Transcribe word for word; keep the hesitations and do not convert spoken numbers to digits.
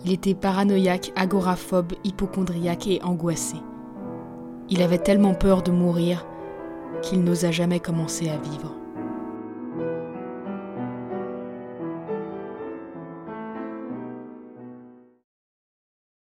Il était paranoïaque, agoraphobe, hypocondriaque et angoissé. Il avait tellement peur de mourir qu'il n'osa jamais commencer à vivre.